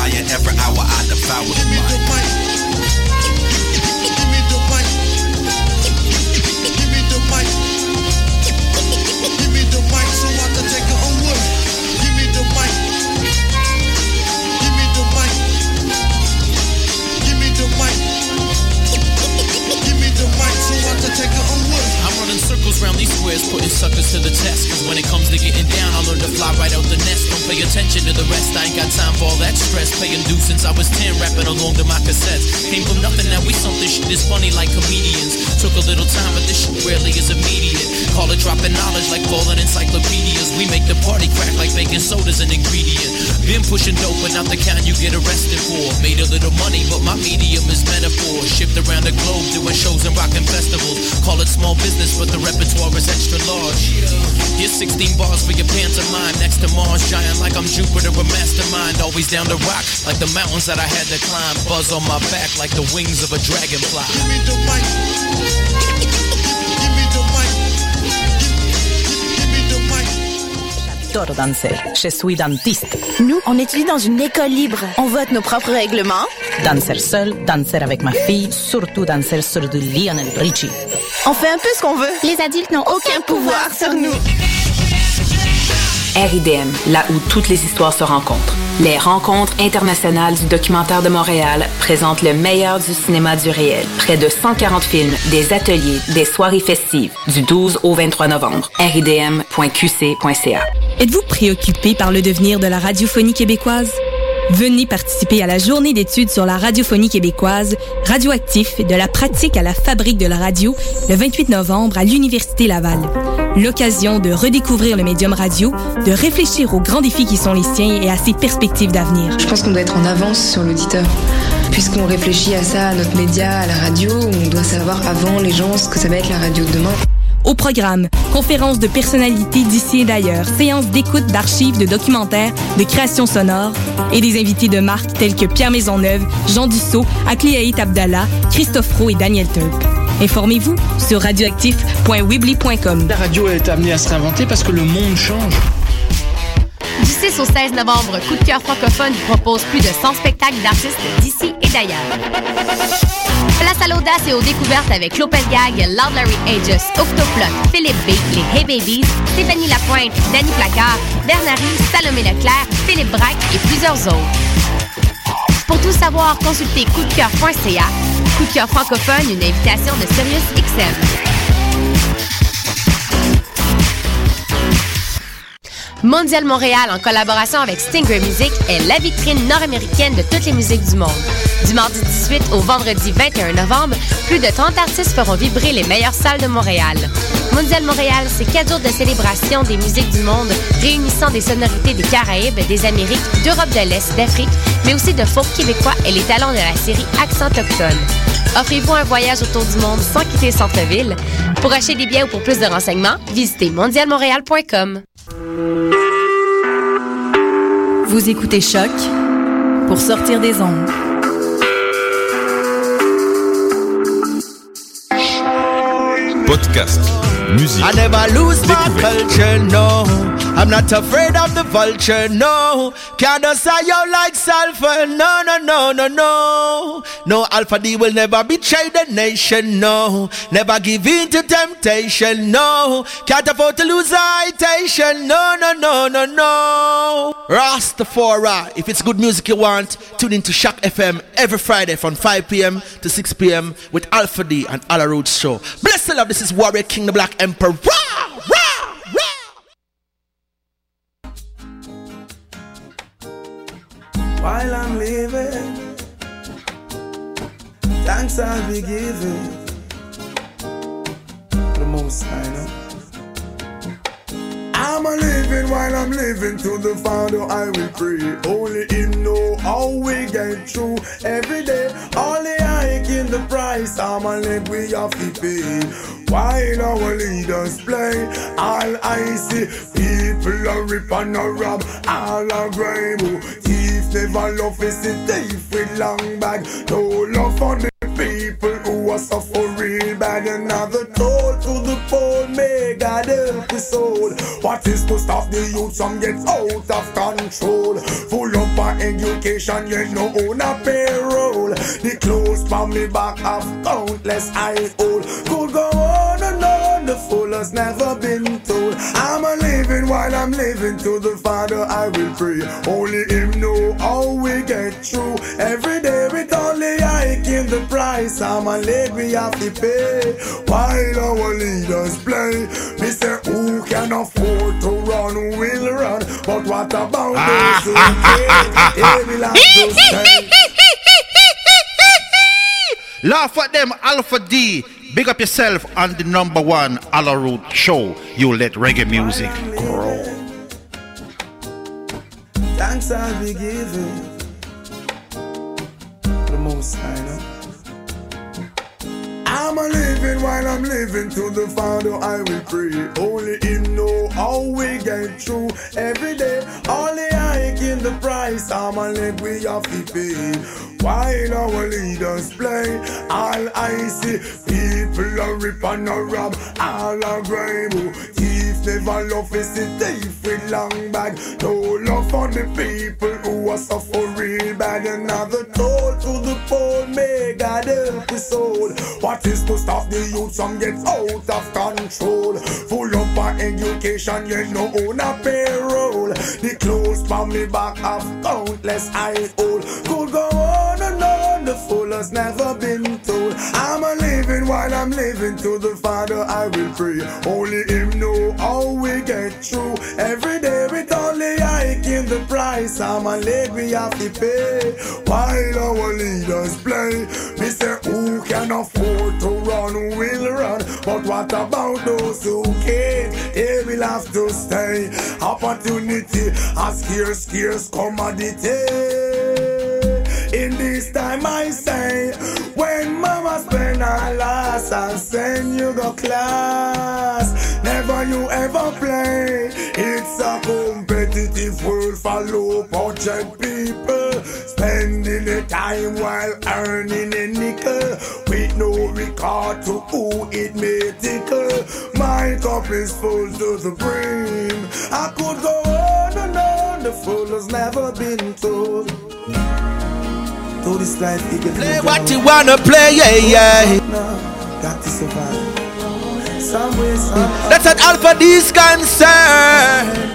lion. Every hour I devour the mic. Give me the mic. Give me the mic. Give me the mic so I can take it on wood. Give me the mic. Give me the mic. Give me the mic. Give me the mic so I can take it on wood. I'm running circles around these squares, putting suckers to the test. Cause when it comes to getting down, I learned to fly right out the nest. Don't pay attention to the rest, I ain't got time for all that stress. Paying dues since I was 10, rapping along to my cassettes. Came from nothing, now we something shit is funny like comedians. Took a little time, but this shit rarely is immediate. Call it dropping knowledge like falling encyclopedias. We make the party crack like baking soda's an ingredient. Been pushing dope, but not the kind you get arrested for. Made a little money, but my medium is metaphor. Shipped around the globe, doing shows and rocking festivals. Call it small business, but the repertoire is extra large. Here's 16 bars for your pantomime. Next to Mars, giant like I'm Jupiter, a mastermind. Always down to rock, like the mountains that I had to climb. Buzz on my back like the wings of a dragonfly. Give me the mic. Give me the mic. Give me the mic. J'adore danser. Je suis dentiste. Nous, on étudie dans une école libre. On vote nos propres règlements. Danser seul, danser avec ma fille, surtout danser sur du Lionel Richie. On fait un peu ce qu'on veut. Les adultes n'ont aucun pouvoir sur nous. RIDM, là où toutes les histoires se rencontrent. Les Rencontres internationales du documentaire de Montréal présentent le meilleur du cinéma du réel. Près de 140 films, des ateliers, des soirées festives, du 12 au 23 novembre. ridm.qc.ca. Êtes-vous préoccupé par le devenir de la radiophonie québécoise? Venez participer à la journée d'études sur la radiophonie québécoise, radioactif, de la pratique à la fabrique de la radio, le 28 novembre à l'Université Laval. L'occasion de redécouvrir le médium radio, de réfléchir aux grands défis qui sont les siens et à ses perspectives d'avenir. Je pense qu'on doit être en avance sur l'auditeur. Puisqu'on réfléchit à ça, à notre média, à la radio, on doit savoir avant les gens ce que ça va être la radio de demain. Au programme, conférences de personnalités d'ici et d'ailleurs, séances d'écoute d'archives, de documentaires, de créations sonores et des invités de marque tels que Pierre Maisonneuve, Jean Dussault, Akliaït Abdallah, Christophe Roux et Daniel Tulp. Informez-vous sur radioactif.weebly.com. La radio est amenée à se réinventer parce que le monde change. Du 6 au 16 novembre, Coup de cœur francophone vous propose plus de 100 spectacles d'artistes d'ici et d'ailleurs. Place à l'audace et aux découvertes avec Lopez Gag, Loud Larry Aegis, Octoplot, Philippe B, les Hey Babies, Stéphanie Lapointe, Danny Placard, Bernary, Salomé Leclerc, Philippe Braque et plusieurs autres. Pour tout savoir, consultez coupdecoeur.ca. Coup de cœur francophone, une invitation de Sirius XM. Mondial Montréal, en collaboration avec Stingray Music, est la vitrine nord-américaine de toutes les musiques du monde. Du mardi 18 au vendredi 21 novembre, plus de 30 artistes feront vibrer les meilleures salles de Montréal. Mondial Montréal, c'est 4 jours de célébration des musiques du monde, réunissant des sonorités des Caraïbes, des Amériques, d'Europe de l'Est, d'Afrique, mais aussi de folk québécois et les talents de la série Accent autochtone. Offrez-vous un voyage autour du monde sans quitter le centre-ville. Pour acheter des billets ou pour plus de renseignements, visitez mondialmontréal.com. Vous écoutez Choc pour sortir des ondes. Podcast, musique, I never lose my découverte. culture, no. I'm not afraid of the vulture, no. Can't say you like sulfur, no, no, no, no, no. No, Alpha D will never betray the nation, no. Never give in to temptation, no. Can't afford to lose citation, no, no, no, no, no. Rastafari, if it's good music you want, tune into Shock FM every Friday from 5 p.m. to 6 p.m. with Alpha D and Alla Roots Show. Bless the love, this is Warrior King, the Black Emperor. Rah, rah, rah. While I'm living, thanks I'll be giving the most I know. I'm a living while I'm living, to the Father I will pray. Only Him know how we get through every day. Only I in the price, I'm a let we have to pay. While our leaders play, all I see, people are rip and a rob, all are grime. Thief never love is a thief with long bag. No love for the people who are suffering bad. Another toll to the poor, may God help us all. What is to stop the youth from get out of control? Full up of education, you no own a payroll. The clothes from me back of countless I old. Could go on and on, the fool has never been told. I'm a living while I'm living, to the Father I will pray. Only Him know how we get through. Every day with only hiking the price, I'm a late we have to pay. While our leaders play, me say who can afford to run will run. But what about those who can't? They will have to stay. Laugh at them, Alpha D. Big up yourself on the number one Ala Root show. You let reggae music grow. Thanks I'll be giving the most I know. I'm a living while I'm living, to the Father I will pray. Only Him know how we get through. Every day, only hike in the price, I'm a leg we have to pay. While our leaders play, all I see, people are rip and a rob, all are grime. Thief never love is the thief with long bag. No love for the people who are suffering bad. Another toll to the poor, may God help his soul. What is to stop the youth from get out of control? Full up our education, you no own a payroll. The clothes from me back of countless I old. Could go on and on, the fool has never been told. I'm a living while I'm living, to the Father I will pray. Only Him know how we get through. Every day with only hiking the price, I'm a late we have to pay. While our leaders play, me say who can afford to run will run. But what about those who can't? They will have to stay. Opportunity a scarce commodity. In this time I say, when mama spend her last, I send you go class. Never you ever play. It's a competitive world for low budget people, spending the time while earning a nickel, with no regard to who it may tickle. My cup is full to the brim. I could go on and on, the fool has never been told. To this life, play what you wanna play, yeah. Got to survive. Some way, somehow. That's an Alpha D's concern.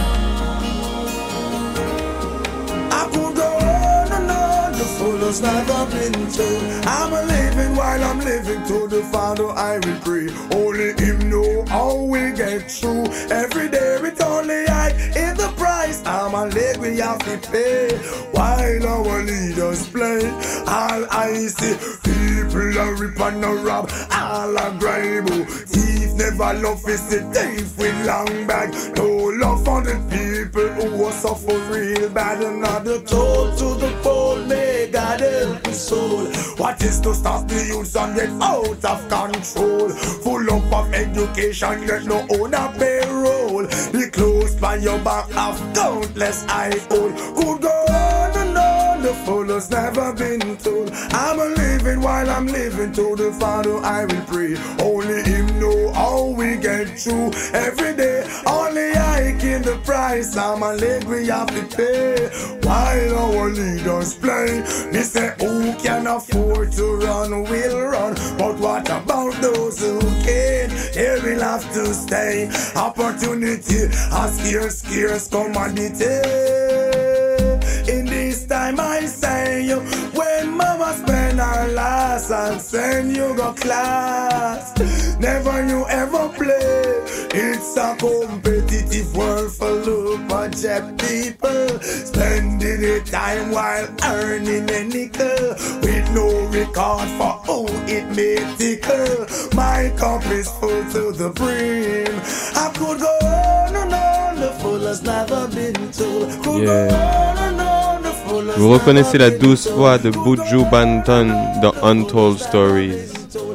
I could go on and on, the fool has never been told. I'm a living while I'm living, to the Father I will pray. Only Him know how we get through. Every day with only I in the price, I'm a leg we have to pay. While our leaders play, all I see, people are rip and a rob, all are grime. Thief never love is the thief with long bag. No love for the people who are suffer real bad. Another toll to the poor, may God help his soul. What is to stop the youth and get out of control? Full up of education, yet no own a payroll. The clothes by your back of countless I old. Could go on and on, the fool has never been told. I'm a living while I'm living, to the Father I will pray. Only Him know how we get through. Every day, only hiking the price, I'm a leg we have to pay. While our leaders play, me say who can afford to run will run. But what about those who can't? They will have to stay. Opportunity a scarce commodity. In this time I say, when mama spend her last, I'll send you go class. Never you ever play. It's a competitive world for low budget people, spending the time while earning a nickel, with no regard for who it may tickle. My cup is full to the brim. I could go on and on, the fool has never been told. Could go on and on, the fool has Vous reconnaissez la douce voix de Buju Banton dans Untold Stories.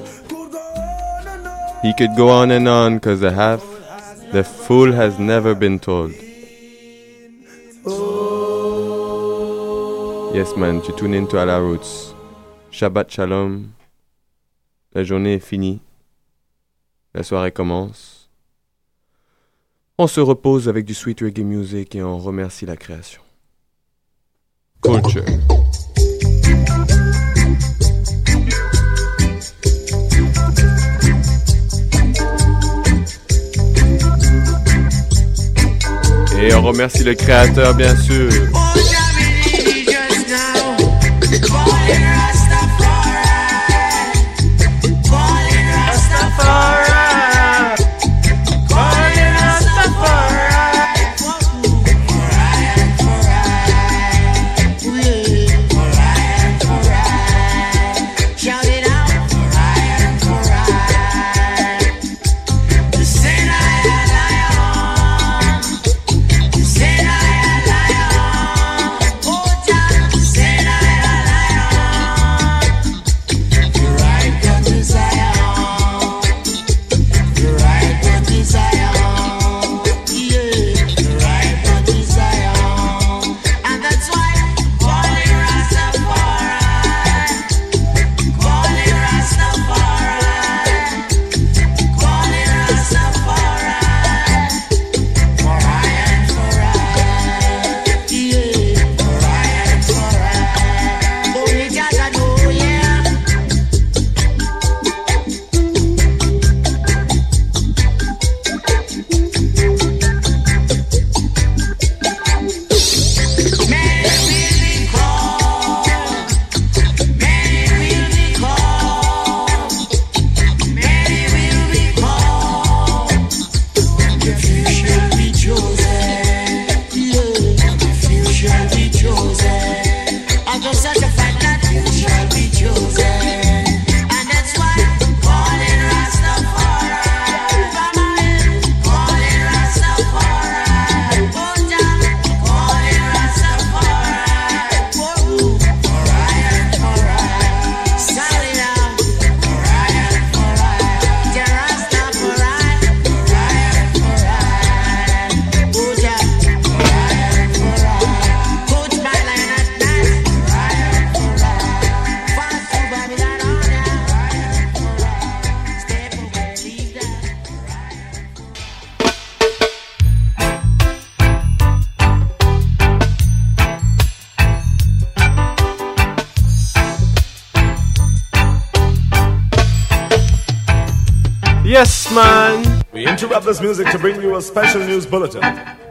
He could go on and on cause the fool has never been told. Yes man, tu tunes into Ala Roots. Shabbat Shalom. La journée est finie. La soirée commence. On se repose avec du sweet reggae music et on remercie la création. culture. Et on remercie le créateur, bien sûr. Yes, man. We interrupt this music to bring you a special news bulletin.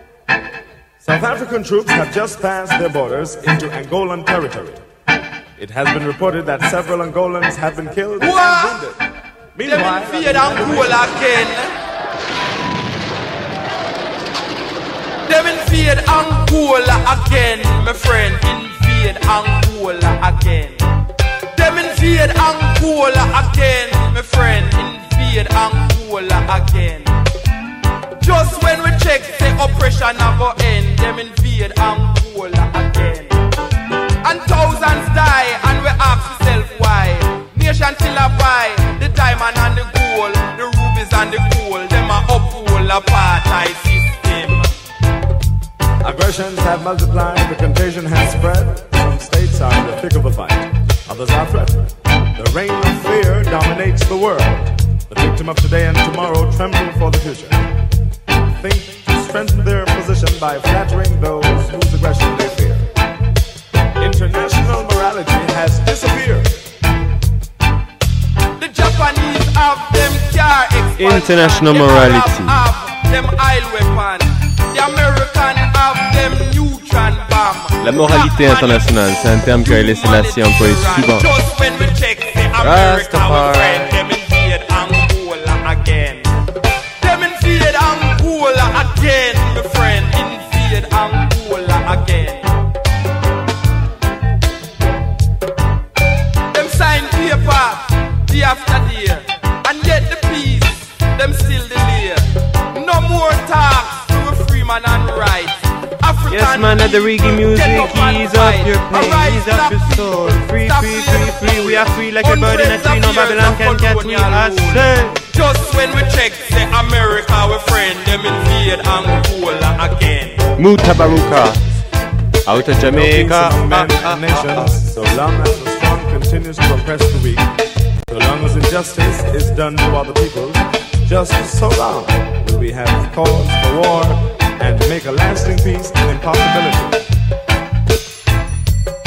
South African troops have just passed their borders into Angolan territory. It has been reported that several Angolans have been killed and wounded. Meanwhile, Them invade Angola again, my friend. Invade Angola again. Them invade Angola again, my friend. Invade Angola again. Just when we check the oppression go end, them invade Angola again. And thousands die, and we ask ourselves why. Nation still a buy the diamond and the gold, the rubies and the gold. Them a uphold apartheid system. Aggressions have multiplied, the contagion has spread. Some states are in the thick of the fight, others are threatened. The reign of fear dominates the world. The victim of today and tomorrow tremble for the future. Think to strengthen their position by flattering those whose aggression they fear. International morality has disappeared. The Japanese have them car expansion. International morality. Have them oil weapon. The American have them neutron bomb. La moralité internationale, c'est un terme que Haile Selassie a employé souvent. Just when we check the America, our friend, them invade Angola again. Them invade Angola again, my friend. Invade Angola again. Them sign paper day after day, and yet the peace, them still delay. No more talks to a free man and rights. Yes, man, at the reggae music, ease up your pain, ease up your soul. Free, free, free, free. We are free like a bird in a tree. No Babylon can catch me, I say. Just when we check, say America, we friend, them invade Angola again. Mutabaruka, out of Jamaica. Nations, so long as the strong continues to oppress the weak, so long as injustice is done to other people, just so long will we have cause for war and make a lasting peace an impossibility.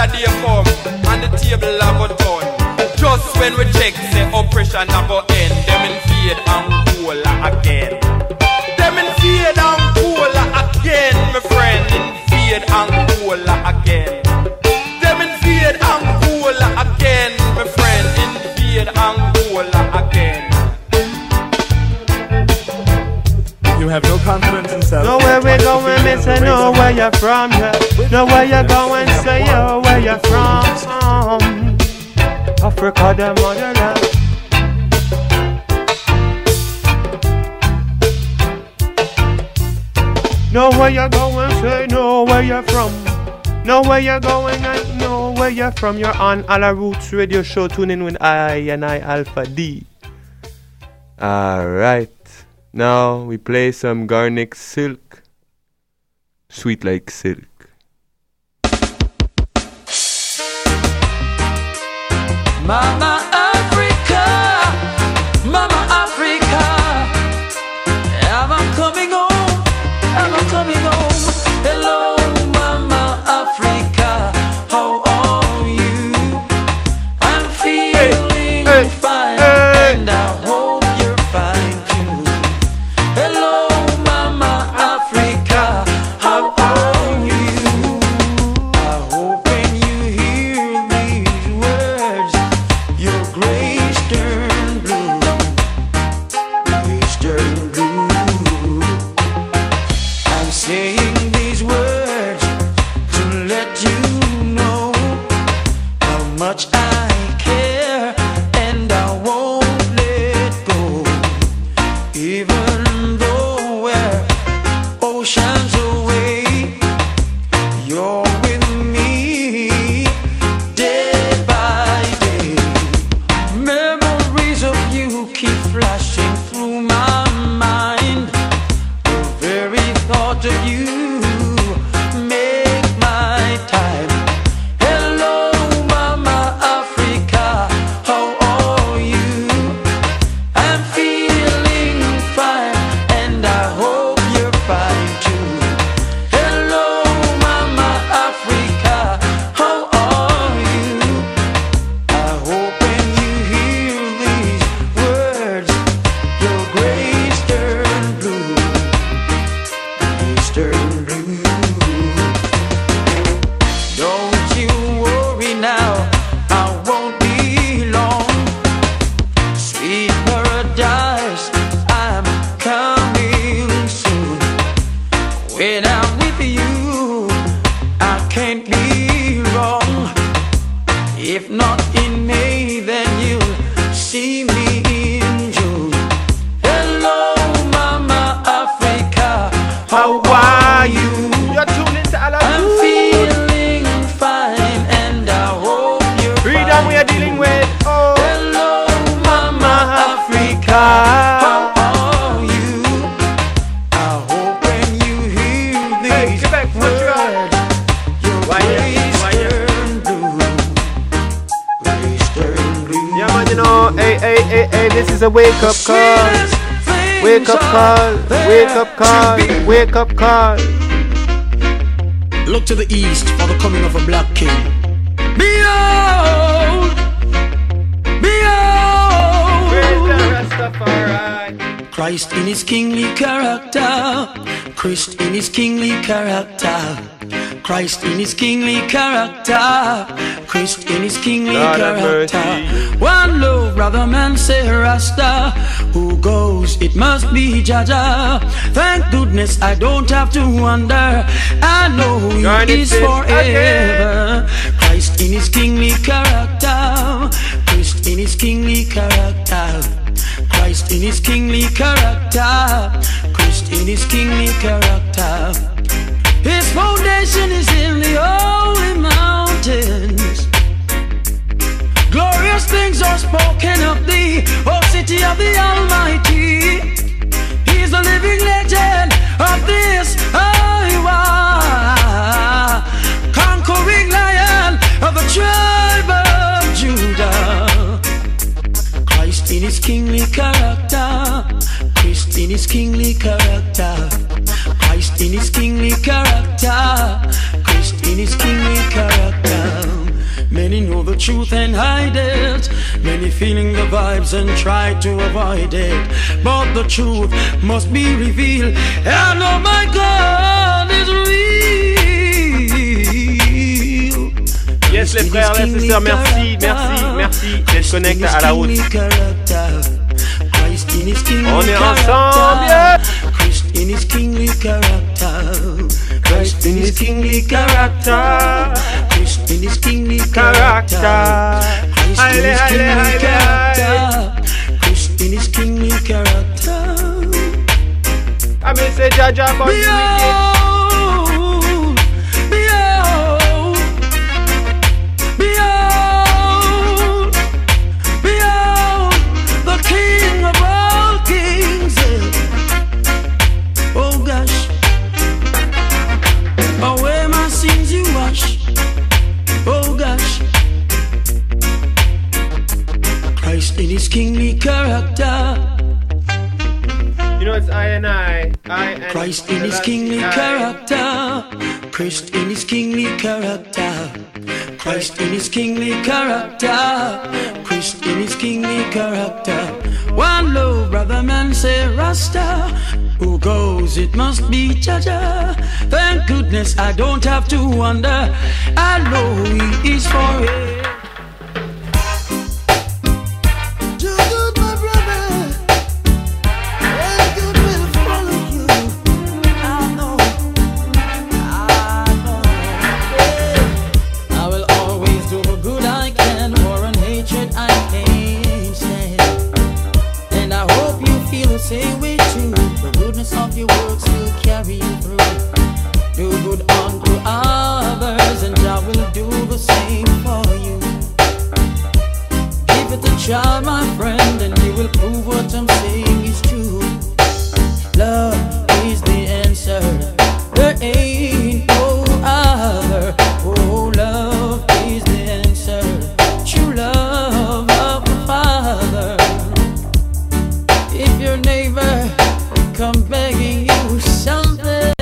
day come and the table a go turn. Just when we check the oppression a go end, them in fade and cool again. Them in fade and cool again, my friend. In fade and cool again. Them in fade and cool again, my friend. In fade and cool again. You have no confidence in self. Know where we going, me say know where you're from, yeah. Know where you're going, say yo, where you're from. Africa, the motherland. Know where you're going, say know where you're from. Know where you're going, I know where you're from. You're on Alla Roots Radio Show. Tune in with I Alpha D. Alright. Now we play some Garnic Silk. Sweet like silk. Mama Africa, Mama Africa, am I coming home? Am I coming home? Hello, Mama Africa, how are you? I'm feeling fine, and I hope you're fine too. Hello, Mama Africa, how are you? I hope when you hear these words, your grace turn blue, grace turn blue. I'm saying these words to let you know how much I care, and I won't let go, even though we're oceans away. You're with me day by day. Memories of you keep flashing through my mind. The very thought of you make my time. Hello, Mama Africa, how are you? I'm feeling fine, and I hope you're fine too. Hello, Mama Africa, how are you? I hope when you hear these words, your grace turn blue, grace turn blue. Don't you worry now, I won't be long. Sweet paradise, I'm coming soon. When I'm with you, I can't be wrong. If not in May, then you'll see me in June. Hello, Mama Africa, how are you? You're tuning to Alla I'm Roots. feeling fine, and I hope you're Freedom fine. we are dealing with. Oh, Hello, Mama Africa, how are you? I hope when you hear Hey, these Quebec, what you got? words, your grace turn blue, grace turn blue. Yeah, man, you know, hey, this is a wake up call. Wake up call, wake up call, wake up call. Look to the east for the coming of a black king. Behold, behold, Where's the Rastafari? Christ in his kingly character, Christ in his kingly character, Christ in his kingly character, Christ in his kingly Lord have character. mercy. One love, brother man, say Rasta. Who goes, it must be Jaja. Thank goodness I don't have to wonder. I know he Garnet is says forever. Christ in his kingly character, Christ in his kingly character, Christ in his kingly character, Christ in his kingly character. His foundation is in the holy mountains. Glorious things are spoken of thee, O city of the Almighty. He's the living legend of this Iowa, conquering lion of the tribe of Judah. Christ in his kingly character, Christ in his kingly character, Christ in his kingly character, Christ in his kingly character. Many know the truth and hide it. Many feeling the vibes and try to avoid it. But the truth must be revealed. And oh my God is real. Yes les frères, les sœurs, merci d'être connectés à la route. On est ensemble, yeah. Christ in his kingly character. Christ in his kingly character. Christ in his kingly character. Christ in his kingly character. Christ in his kingly character. I mean say Jaja about in his kingly character. You know it's I and Christ in his kingly character. Christ in his kingly character. Christ in his kingly character. Christ in his kingly character. One love, brother man say Rasta. Who goes, it must be Jaja. Thank goodness I don't have to wonder. I know he is for it. Same way too, the goodness of your works will carry you through. Do good unto others, and I will do the same for you. Give it a try, my friend, and you will prove what I'm saying is true. Love is the answer. There ain't no other. Oh, love is the answer. True love of the Father. If your neighbor come begging you something,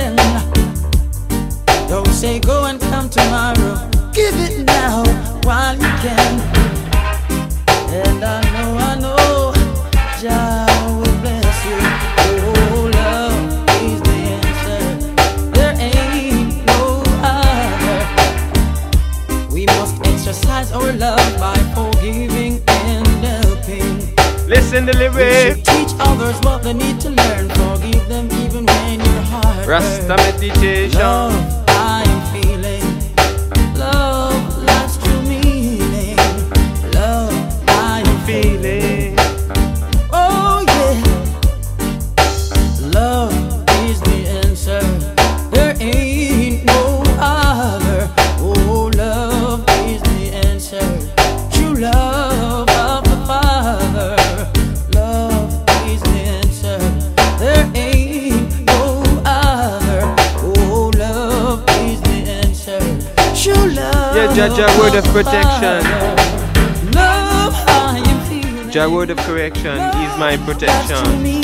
don't say go and come tomorrow. Give it now while you can. And I know, Jah will bless you. Oh, love is the answer. There ain't no other. We must exercise our love by forgiving and helping. Listen the lyrics. Teach others what they need to learn. Forgive them even when your heart Rasta meditation. Love I am feeling. Love life's true meaning. Love I am feeling. Oh yeah. Love is the answer. There ain't no other. Oh, love is the answer. True love of the Father. Yeah, Jaja word of protection. Jah word of correction is my protection.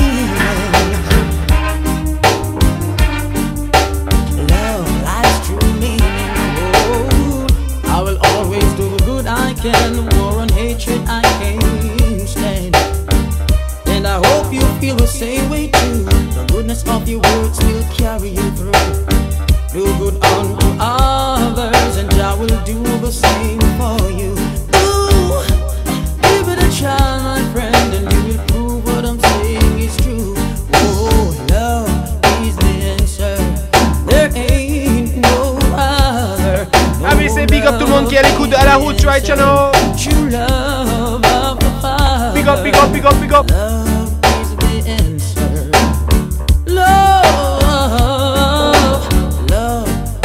Love, life's true meaning. Oh, I will always do the good I can. War and hatred I can't stand. And I hope you feel the same way too. The goodness of your words will carry you through. Do good unto others, and I will do the same for you. Ooh, give it a try, my friend, and you will prove what I'm saying is true. Oh, love is the answer. There ain't no other. Ah mais c'est big up tout le monde qui est à l'écoute à la route, right channel. True love of the Father. Big up, big up, big up, big up. Love is the answer. Love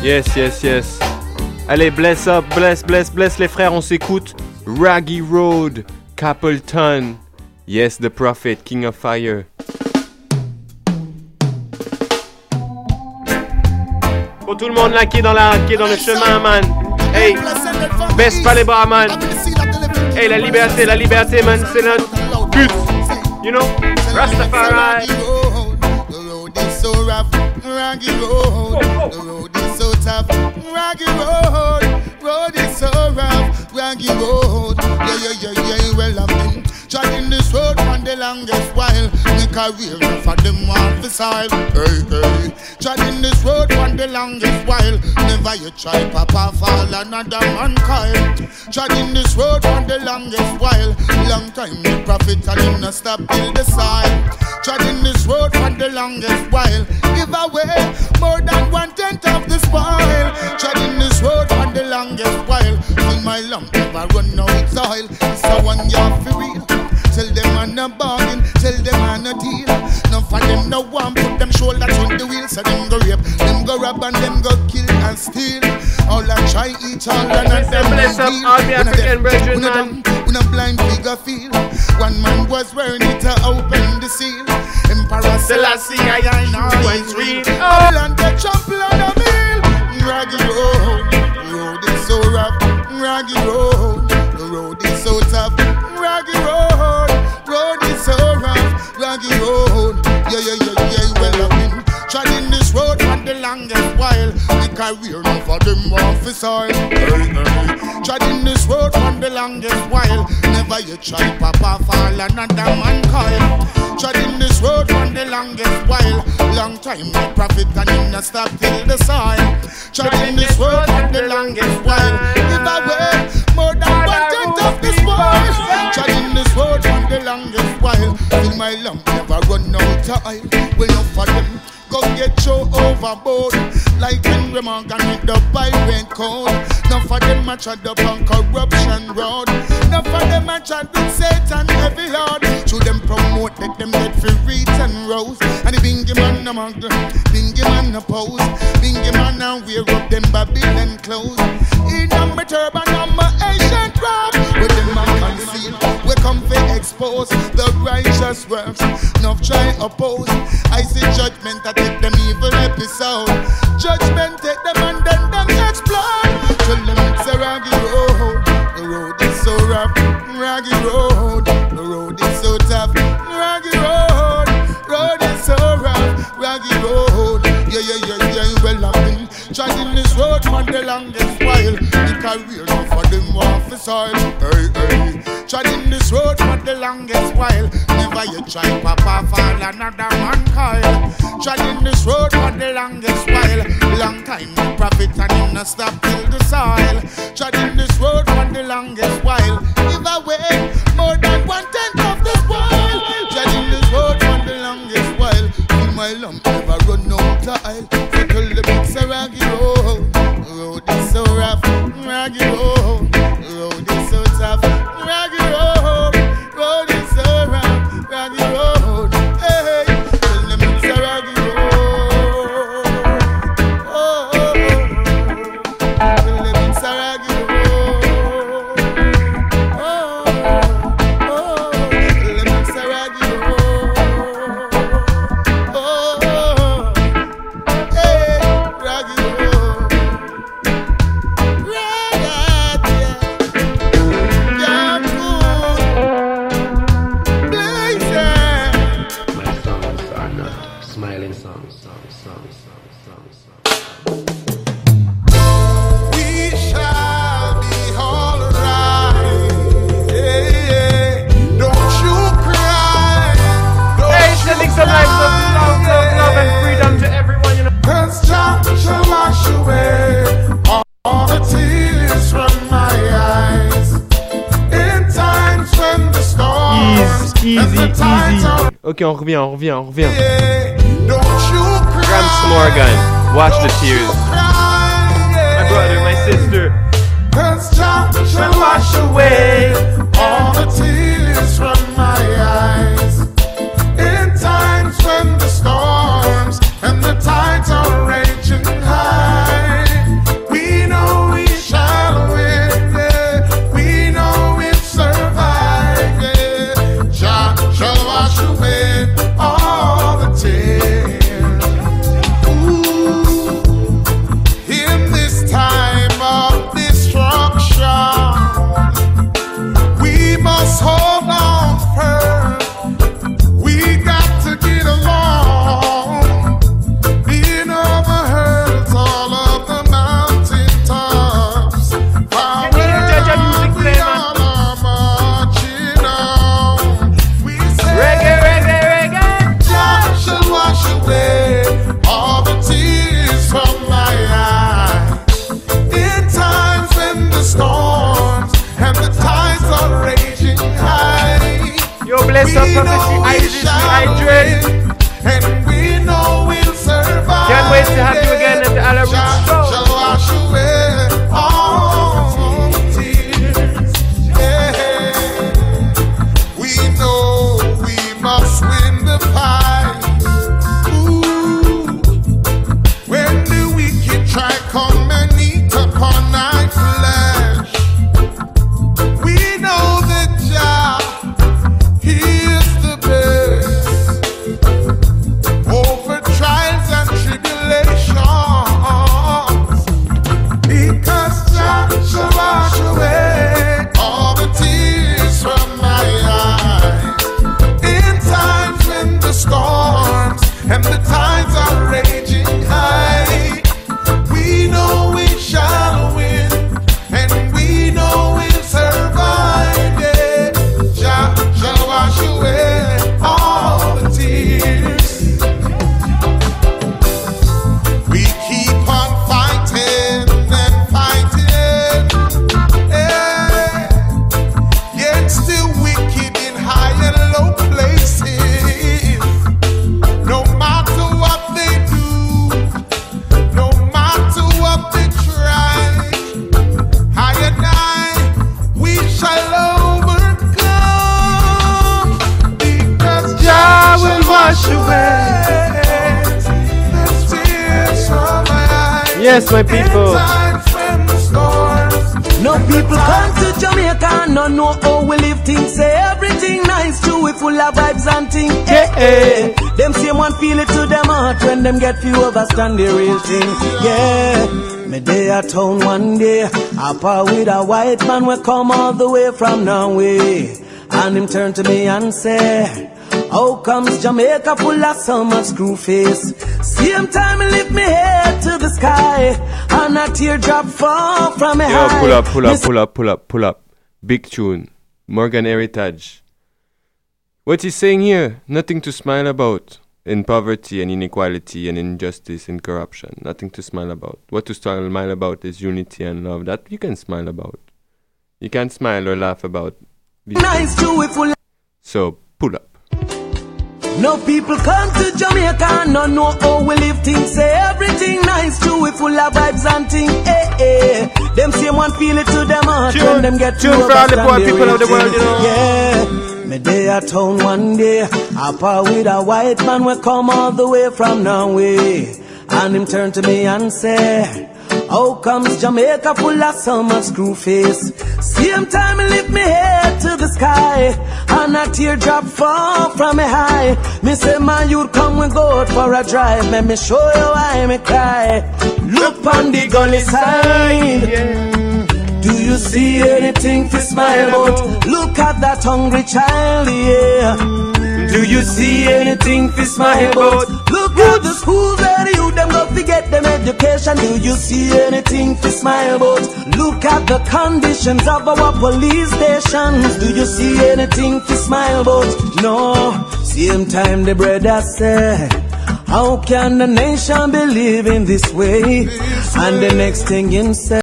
Yes. Allez, bless up, bless les frères, on s'écoute. Raggy Road, Capleton. Yes, the Prophet, King of Fire. Pour tout le monde là qui est dans le chemin, man. Hey, baisse pas les bras, man. Hey, la liberté, man, c'est notre but. You know, Rastafari. The road is so rough, Raggy Road. The road is so tough, Raggy Road is so rough, Raggy Road. Yeah, well, I've been treading this road for the longest while. My career for them want to solve. Hey. Treading this road for the longest while. Never you try papa fall another man coil. Treading this road for the longest while. Long time the prophet and him not stop till the side. Treading this road for the longest while. Give away more than 1/10 of the spoil. Treading this road for the longest while. Fill my lump never run out soil. So one you for real. Tell them I'm not bargain, tell them I'm not deal. None for them no one put them shoulders on the wheel. So them go rape, them go rob and them go kill and steal. All I try each all and I them bless up all the African brethren, man. When a blind figure feel. One man was wearing it to open the seal. Emperor Selassie, I know it's real. All and they trample on the mill. Raggy road is so rough. Raggy road, the road is so tough. Raggy road is so rough. Raggy road, yeah, well I've been treading this road for the longest while. The career now for them officer. Hey. Treading this road for the longest while. Never you try papa fall another man coil. Treading this road for the longest while. Long time the prophet and him not stop till the soil. Treading this road for the longest while. Give away more than 1/10 of this world. Treading this road for the longest while. Till my lump never run out of oil. Well, enough for them go get you overboard. Like Henry Morgan with the pirate code. None for them a trod up on corruption road. None for them a trod with Satan heavy lord. To them promote, let them get free reach and rose. And the bingy man a mug, bingy man a pose. Bingy man a wear up them Babylon clothes. In a my turban and my ancient robe. With them a conceal, we come to expose the righteous works. Enough try oppose. I see judgment that take them evil episode. Judgment take them and then them explode. Tell them it's a Raggy road. The road is so rough. Raggy road. The road is so tough. Raggy road is so rough. Raggy road. Yeah, well I've been treading this road for the longest while. The career now for them officers. Hey. Treading this road for the longest while. Never you try papa fall another man coil. Treading this road for the longest while. Long time the prophet and him not stop till the soil. Treading this road for the longest while. Give away more than 1/10 of the spoil. Treading this road for the longest while. In my lump never run out of oil. So tell them it's a Raggy road. The road is so rough. Raggy road. The road is so tough. Raggy road is so rough. Raggy road. Hey, tell them it's a Raggy road. Oh. Tell them it's a Raggy road. Oh. Tell them it's a Raggy road. Oh. Hey, Raggy road. Some lives of love and freedom to everyone, you know. 'Cause Jah shall wash away all the tears from my eyes. In times when the storms and the tides are Ok, on revient. don't you cry. Gramps Morgan, wash the tears. My brother, my sister. 'Cause Jah shall wash away all the tears from my eyes. In times when the storms and the tides are raging high. Bless up Prophecy, Isis, Hydrate. And we know we'll survive. Can't wait to have you again at the Alla Roots show. Shall wash away all tears. Yeah. We know we must win the fight. Ooh. When the wicked try come and eat upon our flesh, we know that Jah, He is the best. Over trials and tribulations, because Jah shall wash away all the tears from my eyes. In times when the storms and the tides are raging high, we know we shall win, and we know we'll survive. Yeah. Jah shall wash away all the tears. We keep on fighting and fighting, yeah. Yet still wicked in high and low places. No matter what they do, no matter what they try, I and I, we shall overcome, because Jah will wash away the tears from my eyes. Yes, my people. In times when the storms No people come to Jamaica, no know how we live things. Say everything nice, true, we full of vibes and things. Yeah. Them same one feel it to them heart when them get few overstand the real thing. Yeah. Me day at town one day, up with a white man we come all the way from Norway, and him turn to me and say, how comes Jamaica full of so much screw face? Same time he lift me head to the sky, and a teardrop fall from me Yo, high. pull up. Big tune. Morgan Heritage. What he's saying here, nothing to smile about. In poverty and inequality and injustice and corruption. Nothing to smile about. What to smile about is unity and love. That you can smile about. You can't smile or laugh about these Nice things. to So, pull up. No people come to Jamaica, no know how we live things. Say everything nice, true, we full of vibes and things. Them same one feel it to them heart when them get Tune for all the poor people of the world, you know. Yeah. Me day at town one day, up with a white man we come all the way from Norway, and him turn to me and say, how comes Jamaica full of so much screw face? Same time he lift me head to the sky, and a teardrop fall from me high. Me say, man, you'd come we go out for a drive. Let me show you why me cry. Look on the gully side. Do you see anything to smile about? Look at that hungry child, yeah. Do you see anything to smile about? Look at the schools where the youth them go to get them education. Do you see anything to smile about? Look at the conditions of our police stations. Do you see anything to smile about? No. Same time the brother said, how can the nation be living this way? And the next thing him say,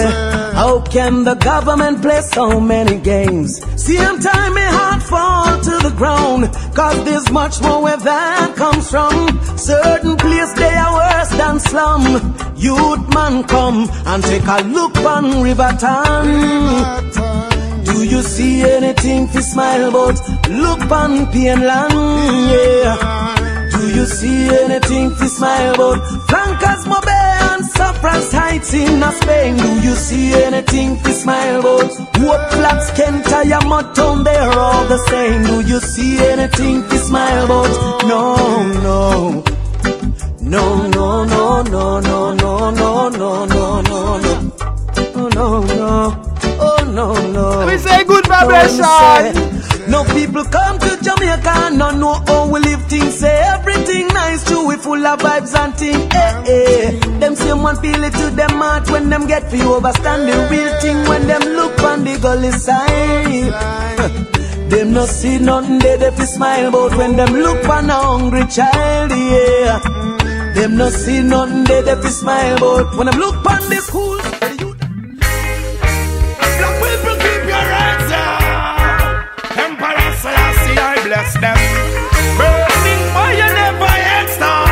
how can the government play so many games? Same time my heart fall to the ground, cause there's much more where that comes from. Certain place they are worse than slum. Youth man come and take a look on Riverton. Do you see anything to smile about? Look on Pienland, yeah. Do you see anything to smile about? Flankers Mobe and Saffron's Heights in Spain. Do you see anything to smile about? What flats Kent, Motown, they're all the same. Do you see anything to smile about? No, no. No, no, no, no, no, no, no, no, no, no, no. Oh, no, no. Oh, no, no. We say good vibration. No people come to Jamaica, no know how we live things. Say everything nice, true, we full of vibes and things. Them same one feel it to them heart when them get for you overstand the real thing. When them look on the gully side, them no see nothing they fi smile about. When them look on a hungry child, yeah. Them no see nothing they fi smile about. When them look on the schools. test them. Burning fire never ends now.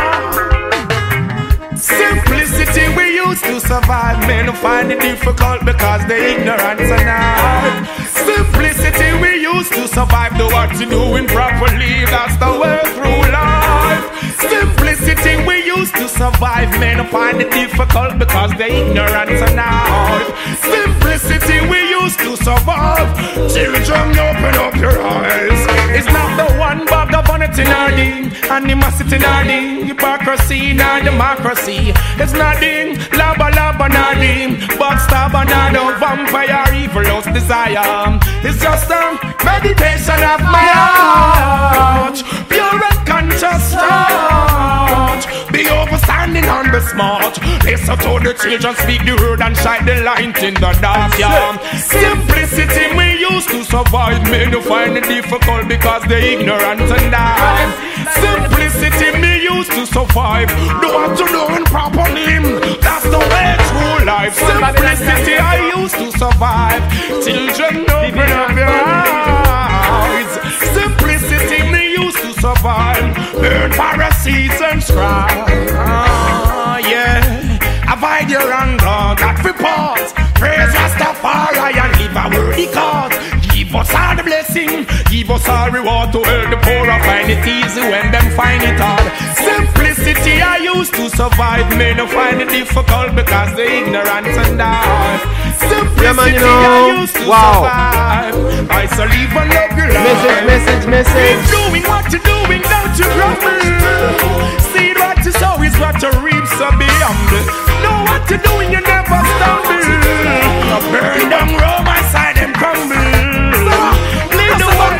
Simplicity we used to survive. Men find it difficult because they ignorant now. Simplicity we used to survive. Do what you doing properly, that's the way through life. Simplicity we used to survive. Men find it difficult because they ignorant now. Simplicity we used to survive. Children, open up your eyes. It's not the one bag of vanity nor the animosity nor the hypocrisy nor democracy. It's nothing, lava nor the backstabber nor the vampire evil's desire. It's just a meditation of my heart, pure and conscious thought. Be overstanding and be smart. Listen to the children speak the word and shine the light in the dark. Yeah. Simplicity we used to survive. Men who find it difficult because they ignorant and die. Simplicity me used to survive. Do what you doing properly, that's the way through life. Simplicity I used to survive. Children, open up your eyes. Simplicity me used to survive. Burn parasites and strife. Yeah. Avoid your anger, got for pause. Praise Rastafari and live a worthy cause. Give us all the blessing, give us all reward to help the poor and find it easy when them find it hard. Simplicity I used to survive. Men find it difficult because they ignorant and die. Simplicity I used to survive. I shall live and love your life. Message. Keep doing what you're doing, don't you grumble. See what you sow is what you reap, so be humble. Know what you're doing, you never stumble. Burn down Rome, I side them crumble. Live the one,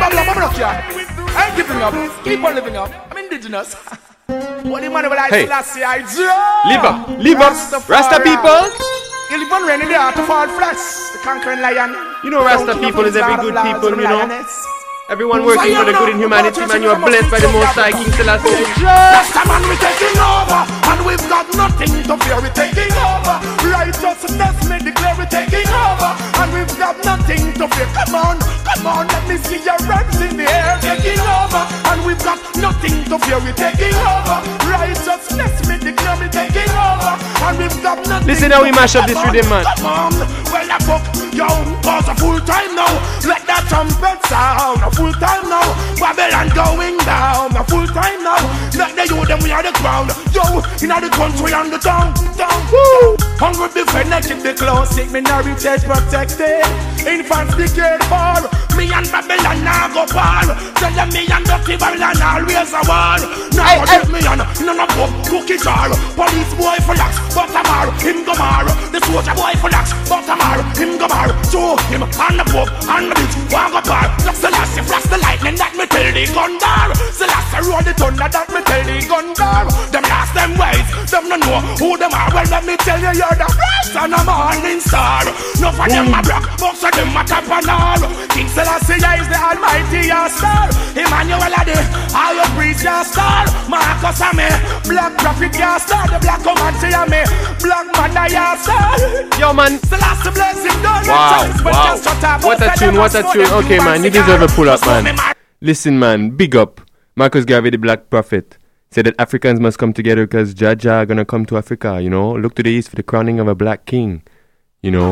I ain't giving up. Keep on living up. I'm indigenous. What the man will I say last year? Live up, Rasta people. You live on rain in the heart of all flesh. The conquering lion. You know Rasta people is every good people, you know. Everyone working for the good in humanity, man. You are blessed by the Most High King Selassie. Rasta man, we taking over, and we've got nothing to fear. We taking over. Righteousness, me declare we taking over, and we've got nothing to fear. Come on, let me see your hands in the air. Taking over, and we've got nothing to fear. We taking over. Righteousness, me declare we taking over, and we've got nothing. Listen how we mash up this rhythm, man. Come on, well I fuck yo, cause a full time now. Let that trumpet sound. Full time now, Babylon going down. A full time now, let the youth them we are the crown. Yo, in the country and the town. Woo! Hungry defend, I keep the close, take minorities protected. Infants declared for me and Babylon now go par. Tell them me and Dirty Babylon always a war. Now give me on, none of them cookie jar. Police boy for lax, but a mar, him go mar. The soldier boy for lax, but a mar, him go mar. Show him and the Pope and the bitch, one go bar. That's the last. Flash the lightning that me tell the gun bar. Celeste roll the thunder that me tell the gun bar. Them last them ways, them no know who them are. Well let me tell you you're the first and a morning star. No for them a black, most of them a top and all. King Selassie is the almighty star. Emmanuel are the higher priest star. Marcus are me, black prophet star. The black comanche are me, black mother star. Yo man, Selassie bless him. Wow. What a tune. Okay man, you deserve a pull up. Man. Listen man, big up. Marcus Garvey the Black Prophet said that Africans must come together because Jaja are gonna come to Africa, you know. Look to the east for the crowning of a black king, you know.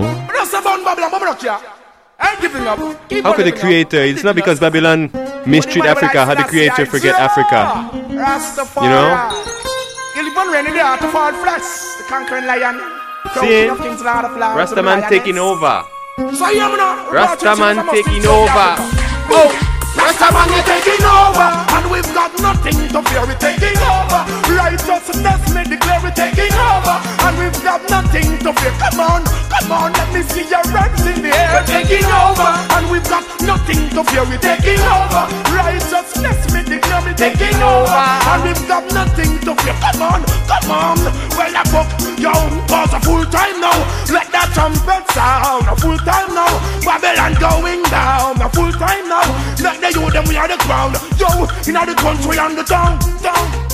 How could the creator, it's not because Babylon mistreat Africa, how the creator forget Africa, you know. See, Rastaman taking over. Rastaman taking over. Oh, Rastaman is taking over, and we've got nothing to fear. We're taking over. Righteousness, me declare we're taking over, and we've got nothing to fear. Come on, let me see your hands in the air. We're taking over, and we've got nothing to fear. We're taking over. Righteousness, me declare we're taking over, and we've got nothing to fear. Come on. Well, I fuck yo, cause a full time now. Let that trumpet sound. A full time now. Babylon going down. A full time now. Let the youth them we are the crown. Yo, in the country and the town.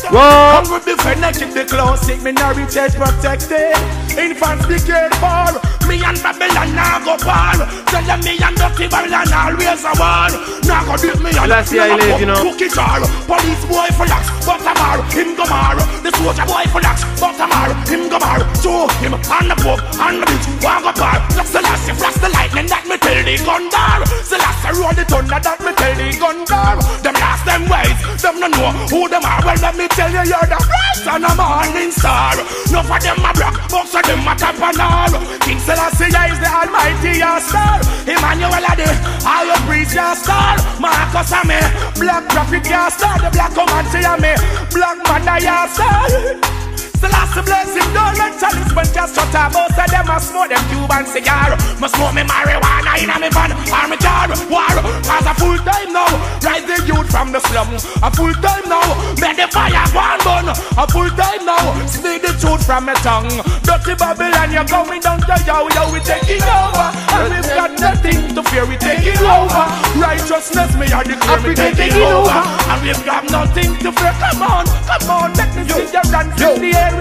Come with the friend, keep the classic minority protected. Infants be cared for. Me and Babylon now go par. Tell them me and Dirty Babylon always a war. Now go beat me and cookie jar. Police boy for lax, but a mar, him go mar. The soldier boy for lax, but a mar, him go mar. Show him on the book, on the beach, walk up bar. Look the last, flash the lightning that me tell the gun dar. The last roll the thunder that me tell the gun dar. Them last them ways, them no know who them are. Well let me tell you you're the first and a morning star. No for them a block, most of them a top and all. King Selassie is the almighty your star. Emmanuel Ade, all your priests your star. Marcus and me, black prophet your star. The black comanche and me, black mother your star. Selassie bless him, don't let Chalice when just shut up. Most of them a smoke them Cuban cigar. Must smoke me marijuana in a me van or me car. War, cause a full time now. Rise the youth from the slum. A full time now. Make the fire one burn. A full time now. Speak the truth from my tongue. Dirty Babylon, you're going down to yo, we taking over. And we've got nothing to fear, we taking over. Righteousness, me are declare, we taking over. And we've got nothing to fear. Come on, let me see you dance in the air.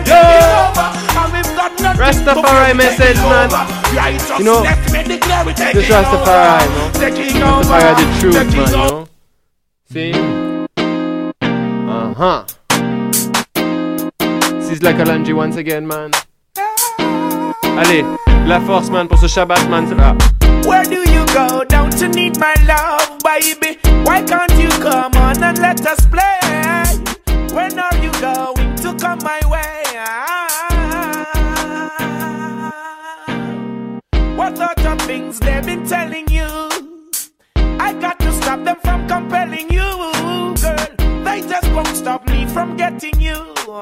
Rastafari message, man. You know, this Rastafari, man. Rastafari are the truth, man, you know. See? Sizzla Kalonji once again, man. Allez, la force, man, pour ce Shabbat, man, c'est là. Where do you go? Don't you need my love, baby? Why can't you come on and let us play? When are you going to come my way? What sort of things they've been telling you? I got to stop them from compelling you, girl. They just won't stop me from getting you.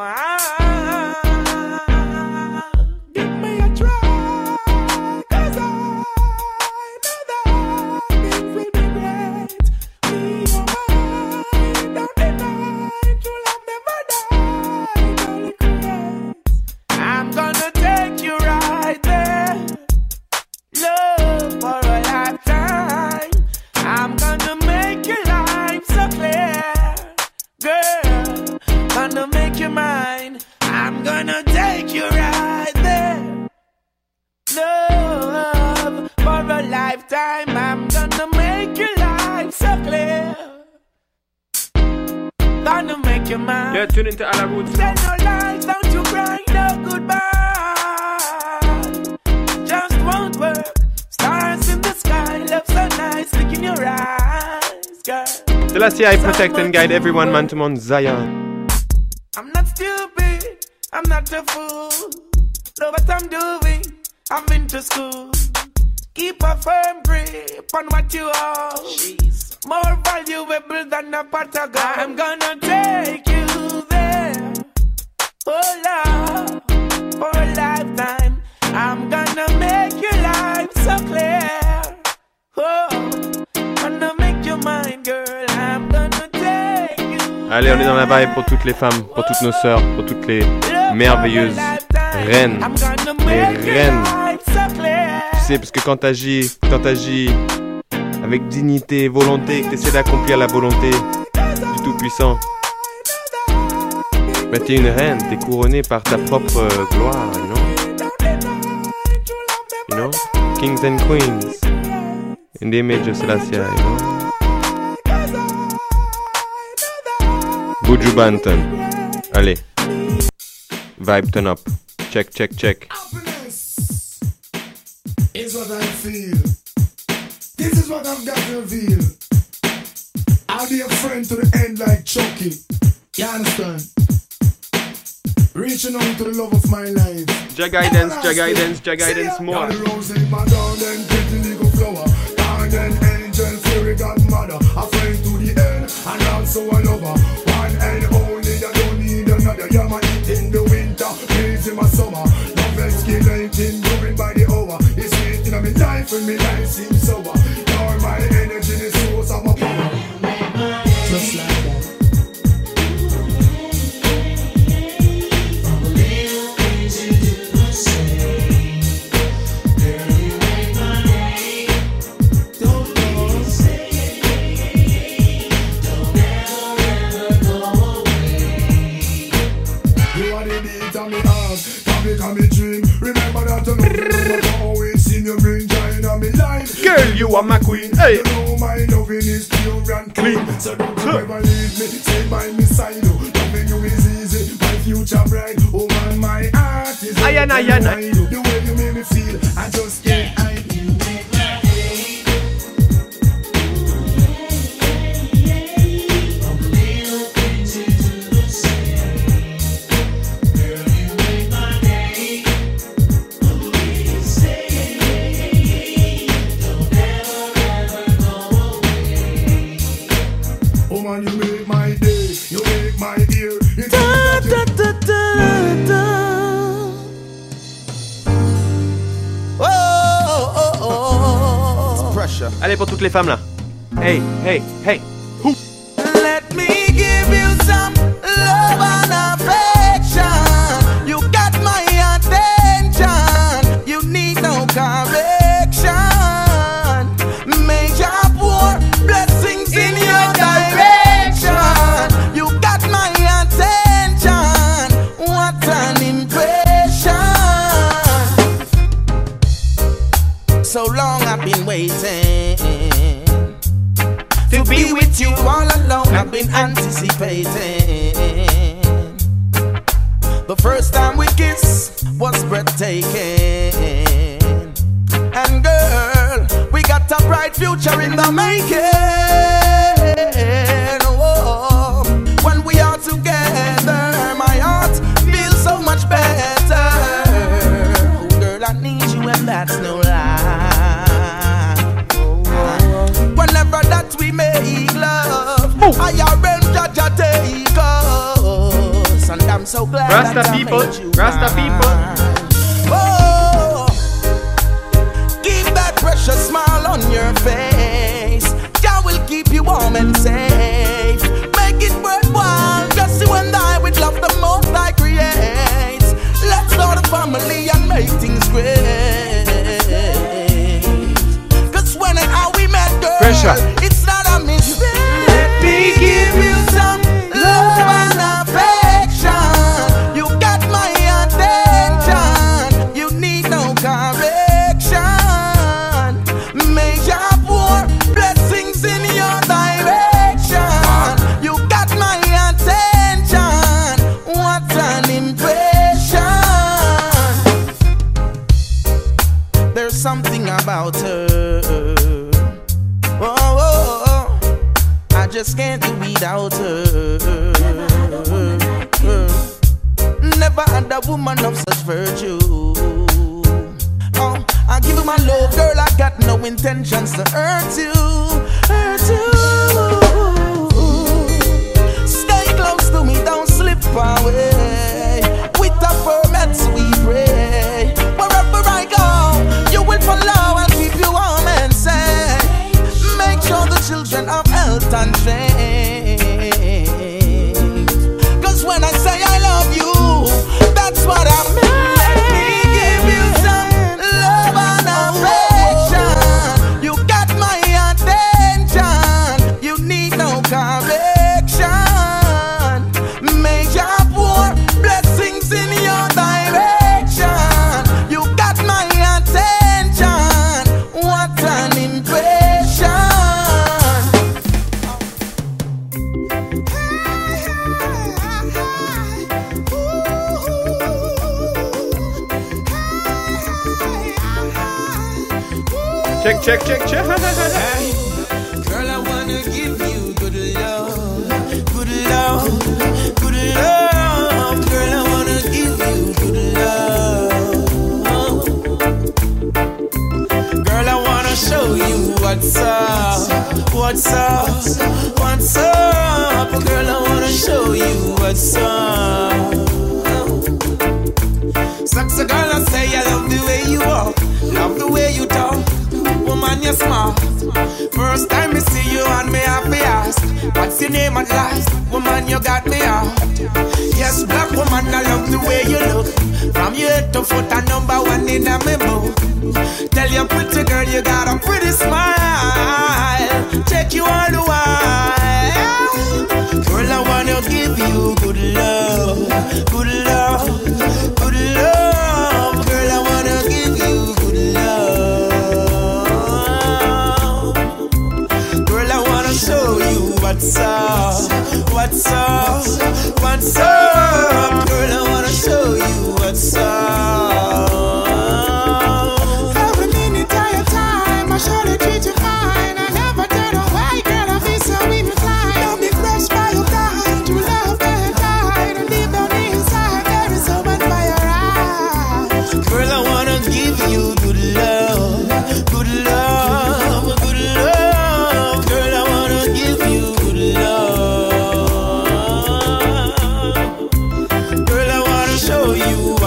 Give me a try, 'cause I know that things will be great. Me your mind, don't deny. True love never dies, only creates. I'm gonna take you right there. Love for a lifetime. I'm gonna make your life so clear, girl. Gonna make you mine. I'm gonna take you right there. Love for a lifetime. I'm gonna make your life so clear. Gonna make you mine. Yeah, tune into Alla Roots. Tell no lies, don't you cry, no goodbye. Just won't work. Stars in the sky, love so nice, look in your eyes, girl. Selassie, I protect and guide everyone, man, to Mount Zion. I'm not stupid, I'm not a fool. Know what I'm doing, I've been to school. Keep a firm grip on what you own. She's more valuable than a pot of gold. I'm gonna take you there. Oh love, for a lifetime. I'm gonna make your life so clear. Oh, gonna make you mine, girl. I'm gonna take you. Allez, on est dans la vibe pour toutes les femmes, pour toutes nos sœurs, pour toutes les merveilleuses reines. Les reines. Tu sais, parce que quand t'agis avec dignité, volonté, que t'essaies d'accomplir la volonté du Tout-Puissant, bah t'es une reine, t'es couronnée par ta propre gloire, you know? You know? Kings and queens in the image of Selassie, you know? Buju Banton. Allez. Vibe turn up. Check, check, check. Is what I feel. This is what I've got to reveal. I'll be a friend to the end like Chucky. You understand? Reaching out to the love of my life. Jah guidance, Jah guidance, Jah guidance more. Down the rose in my down and pretty little flower. Down and angel, fairy godmother. A friend to the end and also a lover. One and only, I don't need another. You're my heat in the winter, breeze in my summer. Love escalating, moving by the hour. It's sweet in my life and my life seems sober. You're my energy, the source of my power. Just like that. the beat of me heart. Come me dream. Remember that you know always seen you bring joy in my life. Girl, you are my queen. Hey. You know my loving is pure and clean. So don't you ever leave me. Stay by me side. Loving you is easy. My future bright. Oh man, my heart is aye. The way you make me feel, I just can't hide. You make my day, you make my ear. It's pressure. Allez pour toutes les femmes là. Hey, hey, hey. Who? Let me give you some love and affection. You got my attention. You need no correction. Major poor blessings in your direction. You got my attention. What an impression. So long I've been waiting to be with you all alone. I've been anticipating. The first time we kissed was breathtaking. And girl, we got a bright future in the making. Oh, when we are together, my heart feels so much better. Oh, girl, I need you and that's no lie. Whenever that we make love, I arrange Jaja take us, and I'm so glad Rasta that people, I made you Rasta people. Oh, keep that precious smile on your face. Jah will keep you warm and safe. Make it worthwhile, just you and I with love the most I create. Let's start a family and make things great. Cause when and how we met, girl, pressure. It's not a mistake. Let me give you some love and affection. You got my attention. You need no correction. Major poor blessings in your direction. You got my attention. What an impression. There's something about her. Oh, oh, oh. I just can't do without her. Never had a woman of such virtue. Oh, I give you my love, girl. I got no intentions to hurt you. Hurt you. Stay close to me, don't slip away. With the permits we pray. Wherever I go, you will follow and keep you warm and safe. Make sure the children have health and strength. Cause when I say I love you, that's what I mean. Let me give you some love and affection. You got my attention. You need no correction. Major poor blessings in your direction. You got my attention. What an impression. Check, check, check, check. Girl, I wanna give you good love, good love, good love. Girl, I wanna give you good love. Girl, I wanna show you what's up, what's up, what's up. Girl, I wanna show you what's up. Sexy girl, I say I love the way you walk, love the way you talk. Woman, you're smart. First time I see you and me happy ask, what's your name at last? Woman, you got me out. Yes, black woman, I love the way you look. From your head to foot, a number one in a me book. Tell your pretty girl you got a pretty smile. Check you all the while. Girl, I wanna give you good love, good love.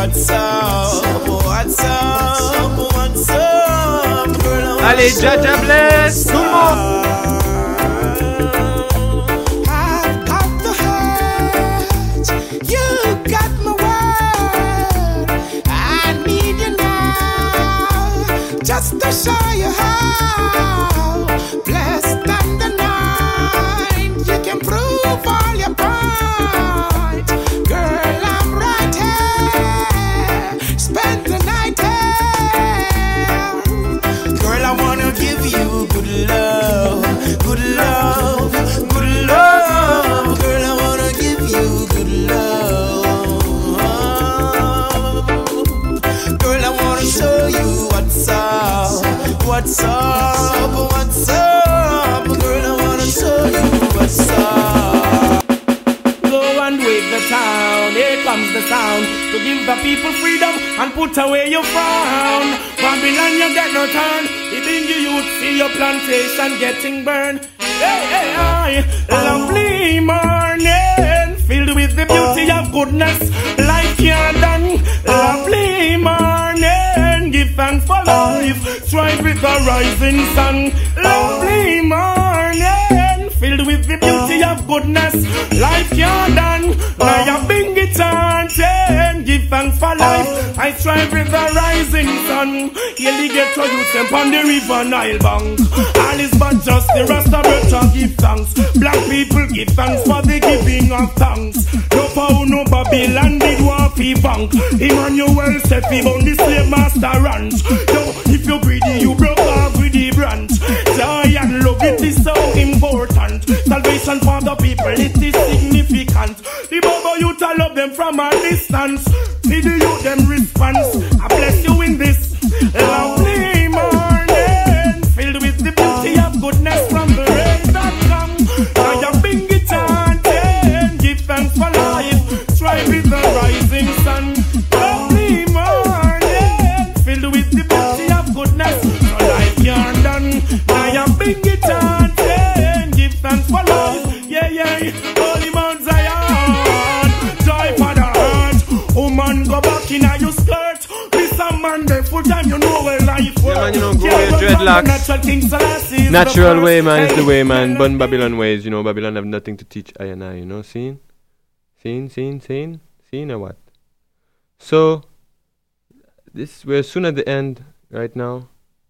what's up, what's up, what's up, girl. Allez, Jaja bless tout le monde. I've got the hurt, you got my word. I need you now, just to show you how blessed and the night you can prove all your point. Girl, I'm right here, spend the night here. Girl, I wanna give you good love, good love, good love. Girl, I wanna give you good love. Girl, I wanna show you what's up, what's up, what's up. Girl, I wanna show you what's up. Go and wake the town, here comes the sound, to give the people freedom and put away your frown. Babylon, you get no turn, even you youth see your plantation getting burned. Hey, hey, hey, lovely morning, filled with the beauty of goodness, life you're done. Lovely morning, give thanks for life, strive with the rising sun. Lovely morning, filled with the beauty of goodness, life you're done. Now you bring it on, give thanks for life, I strive with the rising sun. Yearly get to youth them on the river Nile bank. All is but just the rest of it to give thanks. Black people give thanks for the giving of thanks. No power, no Babylon did want fi bank. Emmanuel said fi bound the slave master ranch. Yo, if you greedy, you broke off with the branch. Joy and love, it is so important. Salvation for the people, it is significant. The Bobo youth, I love them from a distance. See the youth, them response. I bless you in this lovely morning, filled with the beauty of goodness from the rain that come. Now you bring it on, give thanks for life, strive with the rising sun. Lovely morning, filled with the beauty of goodness, so life you're done. Now you bring it on, give thanks for life. Yeah, yeah, Holy Mount Zion, joy for the heart. Woman, go back in your skirt. Man, full time, you know where life works. Yeah, man, you know, grow your dreadlocks. Natural way, man, is the way, man. Bun Babylon ways, you know. Babylon have nothing to teach I and I, you know. Seen or what? So, we're soon at the end right now.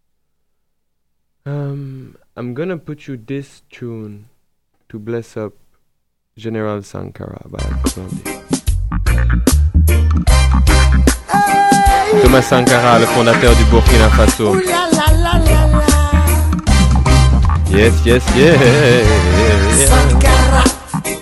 I'm gonna put you this tune to bless up General Sankara by Blondie. Thomas Sankara, le fondateur du Burkina Faso. Yes, yes, yes. Sankara,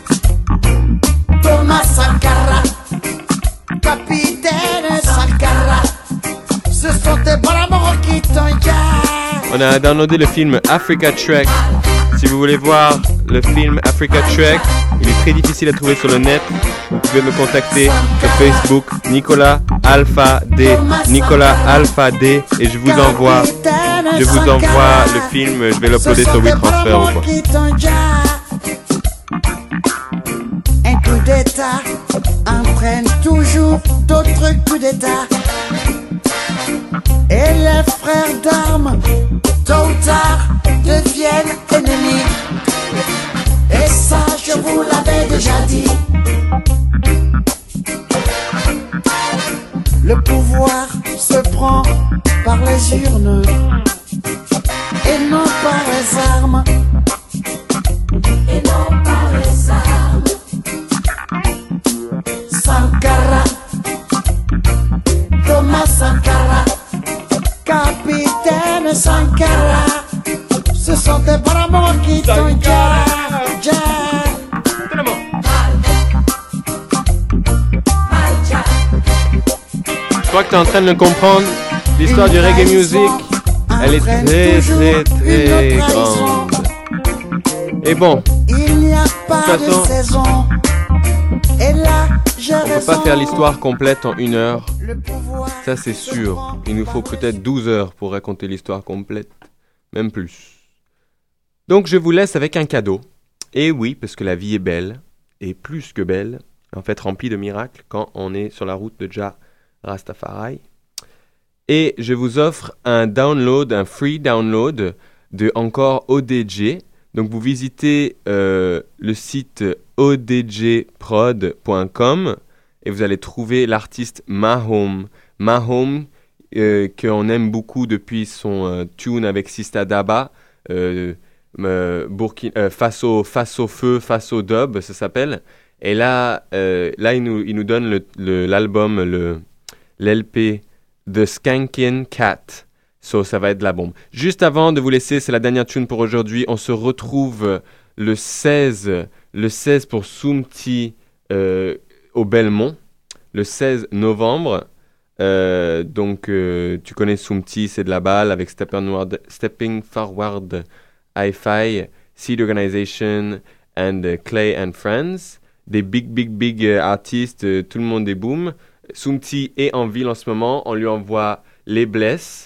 Thomas Sankara, capitaine Sankara, ce sont tes bras qui t'ont gardé. On a downloadé le film Africa Trek. Si vous voulez voir le film Africa Trek, il est très difficile à trouver sur le net. Vous pouvez me contacter sur Facebook, Nicolas Alpha D, Nicolas Alpha D, et je vous envoie le film. Je vais l'uploader sur WeTransfer ou quoi. Un coup d'état entraîne toujours d'autres coups d'état. Et les frères d'armes, tôt ou tard, deviennent ennemis. Et ça, je vous l'avais déjà dit. Le pouvoir se prend par les urnes et non par les armes. Et non par les armes. Sankara, Thomas Sankara, capitaine Sankara, ce sont des bras qui t'ont Je crois que tu es en train de le comprendre. L'histoire du reggae music, elle est très très très grande. Et bon, il n'y a pas de toute façon, saison. Et là, on peut pas faire l'histoire complète en 1 heure. Ça c'est sûr. Il nous faut peut-être 12 heures pour raconter l'histoire complète. Même plus. Donc je vous laisse avec un cadeau. Et oui, parce que la vie est belle. Et plus que belle. En fait remplie de miracles quand on est sur la route de Jah Rastafari. Et je vous offre un download, un free download de encore ODJ. Donc vous visitez le site odjprod.com et vous allez trouver l'artiste Mahome. Mahome, qu'on aime beaucoup depuis son tune avec Sista Daba, face au feu, face au dub, ça s'appelle. Et là il nous donne l'album, l'LP The Skankin' Cat. So, ça va être de la bombe. Juste avant de vous laisser, c'est la dernière tune pour aujourd'hui. On se retrouve le 16 pour Soumti au Belmont, le 16 novembre. Donc, tu connais Soumti, c'est de la balle avec Stepping Forward Hi-Fi, Seed Organization and Clay and Friends. Des big artistes, tout le monde est boom. Soumti est en ville en ce moment. On lui envoie les blesses.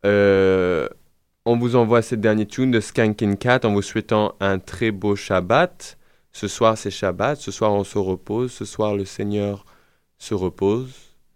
On vous envoie cette dernière tune de Skankin' Cat en vous souhaitant un très beau Shabbat. Ce soir, c'est Shabbat. Ce soir, on se repose. Ce soir, le Seigneur se repose.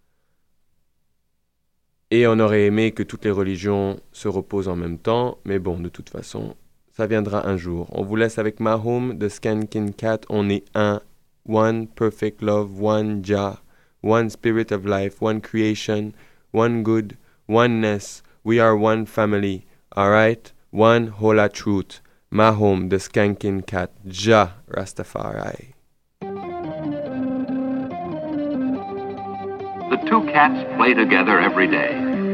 Et on aurait aimé que toutes les religions se reposent en même temps. Mais bon, de toute façon, ça viendra un jour. On vous laisse avec Mahome de Skankin' Cat. On est un. One perfect love. One Jah. One spirit of life. One creation. One good. Oneness. We are one family, alright? One hola truth. Mahome, the Skankin' Cat. Jah Rastafari. The two cats play together every day.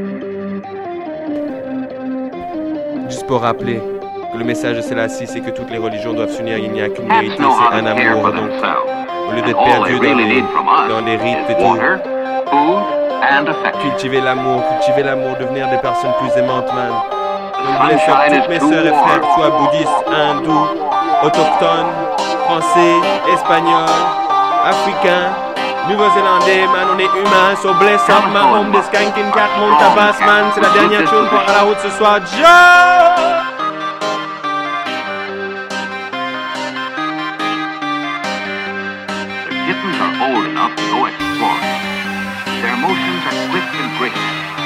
Juste pour rappeler que le message de Selassie, c'est que toutes les religions doivent s'unir. Il n'y a qu'une vérité, c'est un amour. Donc, au lieu d'être perdu dans les rites et tout, cultiver l'amour, devenir des personnes plus aimantes, man. Donc, je laisse toutes mes sœurs et frères, que ce soit bouddhistes, hindous, autochtones, français, espagnols, africains, nouveau-zélandais, man, on est humains, so bless up, Mahome, the Skankin' Cat, monte à basse, man, c'est la dernière tune pour à la route ce soir, Joe! The kittens are old enough to go exploring. Their motions are quick and great.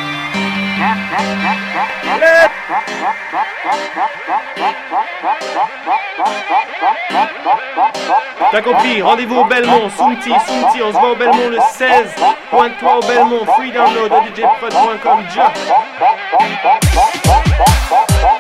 T'as compris, rendez-vous au Belmont, Soumti, on se voit au Belmont le 16, pointe-toi au Belmont, free download, odjprod.com, ja.